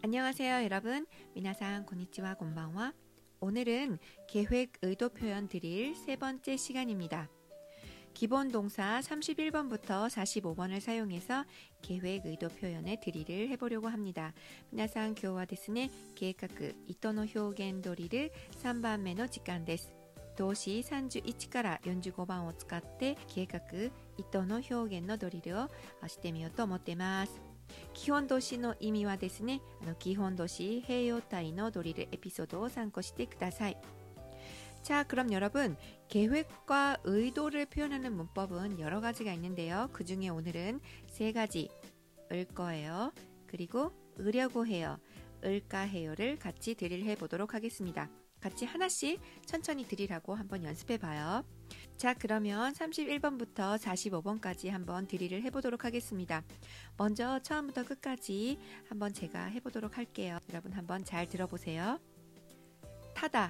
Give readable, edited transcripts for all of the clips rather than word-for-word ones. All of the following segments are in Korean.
안녕하세요, 여러분. 미나상 고니치와 곤방와. 오늘은 계획 의도 표현 드릴 세 번째 시간입니다. 기본 동사 31번부터 45번을 사용해서 계획 의도 표현의 드릴을 해보려고 합니다. 미나상 교와 데스네 계획 이토노 효겐 도리를 3番目の時間です。動詞31から45番を使って計画意図の表現のドリルをしてみようと思っています。基本動詞の意味はですね、基本動詞併用体のドリルエピソードを参考してください。자, 그럼 여러분, 계획과 의도를 표현하는 문법은 여러 가지가 있는데요. 그 중에 오늘은 세 가지, 을 거예요. 그리고 으려고 해요, 을까 해요를 같이 드릴해 보도록 하겠습니다. 같이 하나씩 천천히 드리라고 한번 연습해 봐요. 자, 그러면 31번부터 45번까지 한번 드릴을 해보도록 하겠습니다. 먼저 처음부터 끝까지 한번 제가 해보도록 할게요. 여러분 한번 잘 들어보세요. 타다,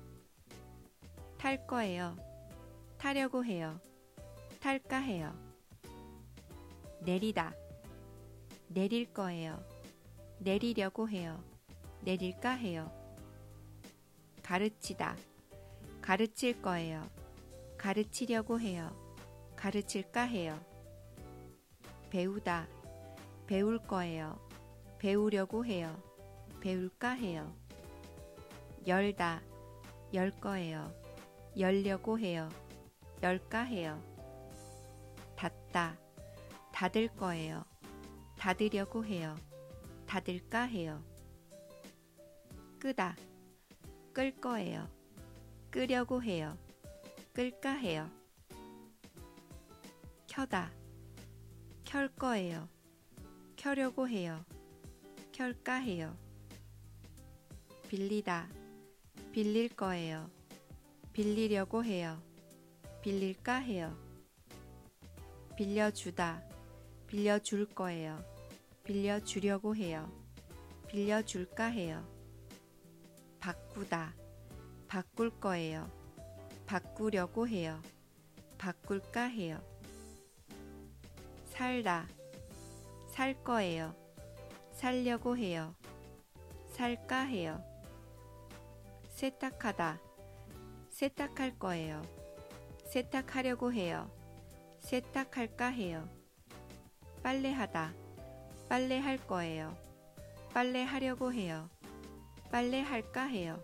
탈 거예요. 타려고 해요. 탈까 해요. 내리다, 내릴 거예요. 내리려고 해요. 내릴까 해요. 가르치다, 가르칠 거예요. 가르치려고 해요. 가르칠까 해요. 배우다, 배울 거예요. 배우려고 해요. 배울까 해요. 열다, 열 거예요. 열려고 해요. 열까 해요. 닫다, 닫을 거예요. 닫으려고 해요. 닫을까 해요. 끄다, 끌 거예요. 끄려고 해요. 끌까 해요. 켜다, 켤 거예요. 켜려고 해요. 켤까 해요. 빌리다, 빌릴 거예요. 빌리려고 해요. 빌릴까 해요. 빌려주다, 빌려줄 거예요. 빌려주려고 해요. 빌려줄까 해요. 바꾸다, 바꿀 거예요. 바꾸려고 해요. 바꿀까 해요. 살다, 살 거예요. 살려고 해요. 살까 해요. 세탁하다, 세탁할 거예요. 세탁하려고 해요. 세탁할까 해요. 빨래하다, 빨래할 거예요. 빨래하려고 해요. 빨래할까 해요.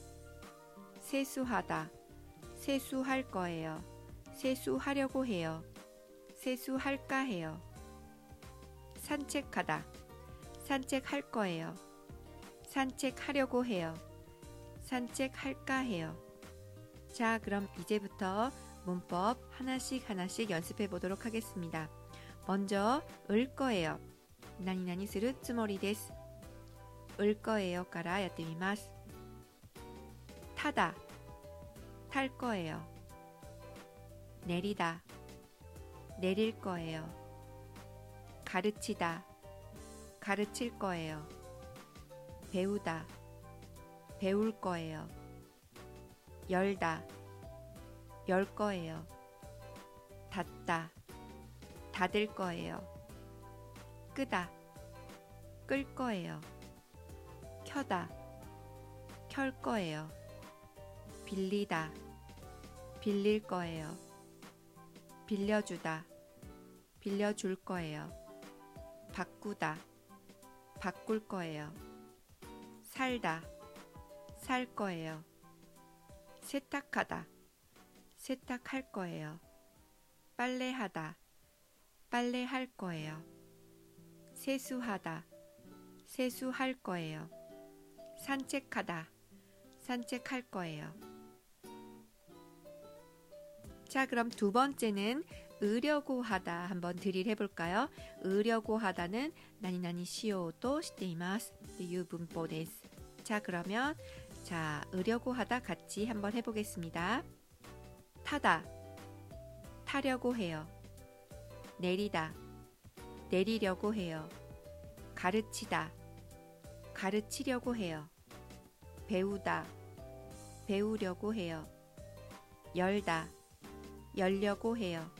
세수하다, 세수할 거예요. 세수하려고 해요. 세수할까 해요. 산책하다, 산책할 거예요. 산책하려고 해요. 산책할까 해요. 자, 그럼 이제부터 문법 하나씩 연습해 보도록 하겠습니다. 먼저 을 거예요. 나니나니するつもりです。을 거예요からやってみます。타다, 탈 거예요. 내리다, 내릴 거예요. 가르치다, 가르칠 거예요. 배우다, 배울 거예요. 열다, 열 거예요. 닫다, 닫을 거예요. 끄다, 끌 거예요. 켜다, 켤 거예요. 빌리다, 빌릴 거예요. 빌려주다, 빌려줄 거예요. 바꾸다, 바꿀 거예요. 살다, 살 거예요. 세탁하다, 세탁할 거예요. 빨래하다, 빨래할 거예요. 세수하다, 세수할 거예요. 산책하다, 산책할 거예요. 자, 그럼 두 번째는 으려고 하다 한번 드릴 해볼까요? 으려고 하다는 나니나니 시오도していますという文法です。 자, 그러면 자, 으려고 하다 같이 한번 해보겠습니다. 타다, 타려고 해요. 내리다, 내리려고 해요. 가르치다, 가르치려고 해요. 배우다, 배우려고 해요. 열다, 열려고 해요.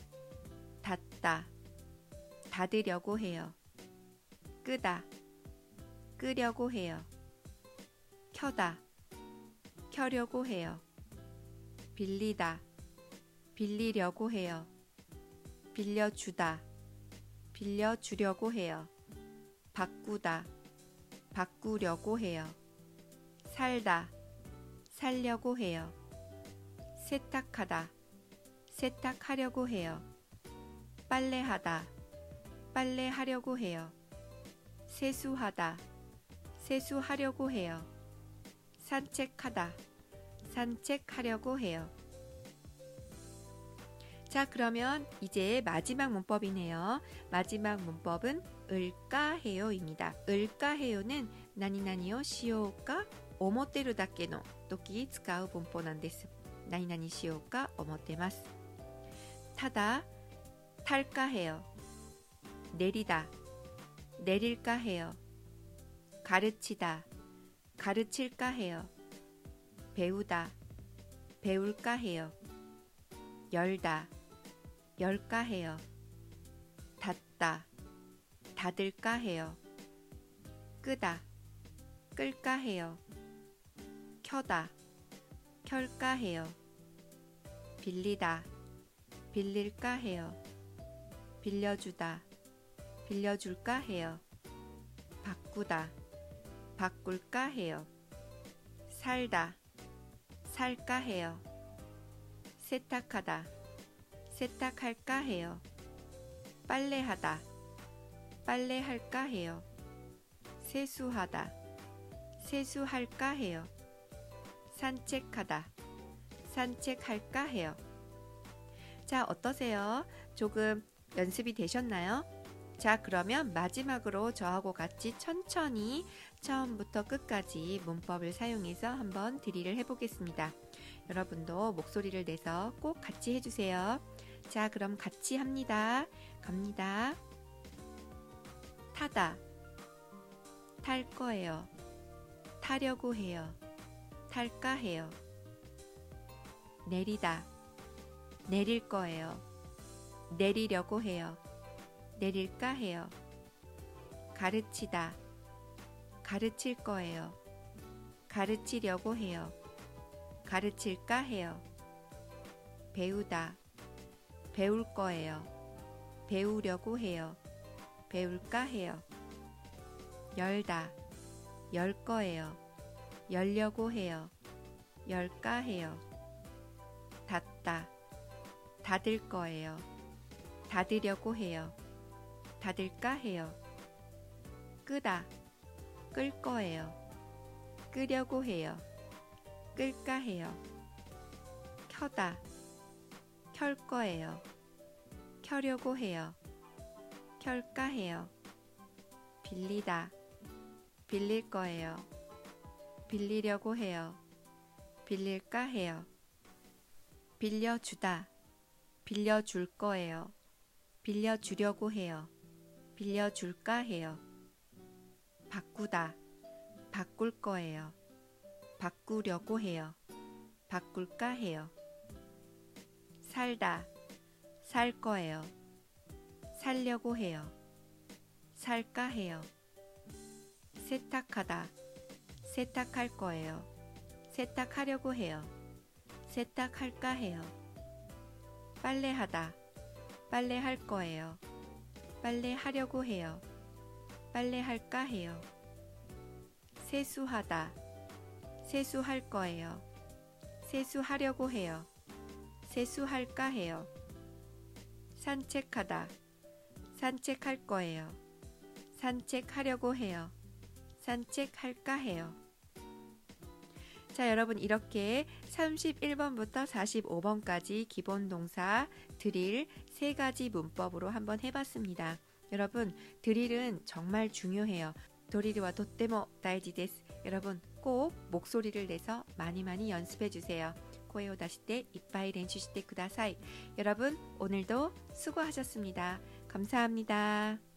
닫다, 닫으려고 해요. 끄다, 끄려고 해요. 켜다, 켜려고 해요. 빌리다, 빌리려고 해요. 빌려주다, 빌려주려고 해요. 바꾸다, 바꾸려고 해요. 살다, 살려고 해요. 세탁하다, 세탁하려고 해요. 빨래하다, 빨래하려고 해요. 세수하다, 세수하려고 해요. 산책하다, 산책하려고 해요. 자, 그러면 이제 마지막 문법이네요. 마지막 문법은 을까 해요입니다. 을까 해요는何々をしようか思ってるだけの時使う文法なんです。何々しようか思ってます。타다, 탈까 해요. 내리다, 내릴까 해요. 가르치다, 가르칠까 해요. 배우다, 배울까 해요. 열다, 열까 해요. 닫다, 닫을까 해요. 끄다, 끌까 해요. 켜다, 켤까 해요. 빌리다, 빌릴까 해요. 빌려주다, 빌려줄까 해요. 바꾸다, 바꿀까 해요. 살다, 살까 해요. 세탁하다, 세탁할까 해요. 빨래하다, 빨래할까 해요. 세수하다, 세수할까 해요. 산책하다, 산책할까 해요. 자, 어떠세요? 조금 연습이 되셨나요? 자, 그러면 마지막으로 저하고 같이 천천히 처음부터 끝까지 문법을 사용해서 한번 드릴을 해보겠습니다. 여러분도 목소리를 내서 꼭 같이 해주세요. 자, 그럼 같이 합니다. 갑니다. 타다, 탈 거예요. 타려고 해요. 탈까 해요. 내리다, 내릴 거예요. 내리려고 해요. 내릴까 해요. 가르치다, 가르칠 거예요. 가르치려고 해요. 가르칠까 해요. 배우다, 배울 거예요. 배우려고 해요. 배울까 해요. 열다, 열 거예요. 열려고 해요. 열까 해요. 닫다, 닫을 거예요. 닫으려고 해요. 닫을까 해요. 끄다, 끌 거예요. 끄려고 해요. 끌까 해요. 켜다, 켤 거예요. 켜려고 해요. 켤까 해요. 빌리다, 빌릴 거예요. 빌리려고 해요. 빌릴까 해요. 빌려주다, 빌려줄 거예요. 빌려주려고 해요. 빌려줄까 해요. 바꾸다, 바꿀 거예요. 바꾸려고 해요. 바꿀까 해요. 살다, 살 거예요. 살려고 해요. 살까 해요. 세탁하다, 세탁할 거예요. 세탁하려고 해요. 세탁할까 해요. 빨래하다, 빨래할 거예요. 빨래하려고 해요. 빨래할까 해요. 세수하다, 세수할 거예요. 세수하려고 해요. 세수할까 해요. 산책하다, 산책할 거예요. 산책하려고 해요. 산책할까 해요. 자, 여러분 이렇게 31번부터 45번까지 기본 동사 드릴 3가지 문법으로 한번 해봤습니다. 여러분 드릴은 정말 중요해요. 도리리와 도떼모 다이지 데스. 여러분 꼭 목소리를 내서 많이 연습해주세요. 코에오 다시 때 이빠이 렌슈시테 쿠다사이. 여러분 오늘도 수고하셨습니다. 감사합니다.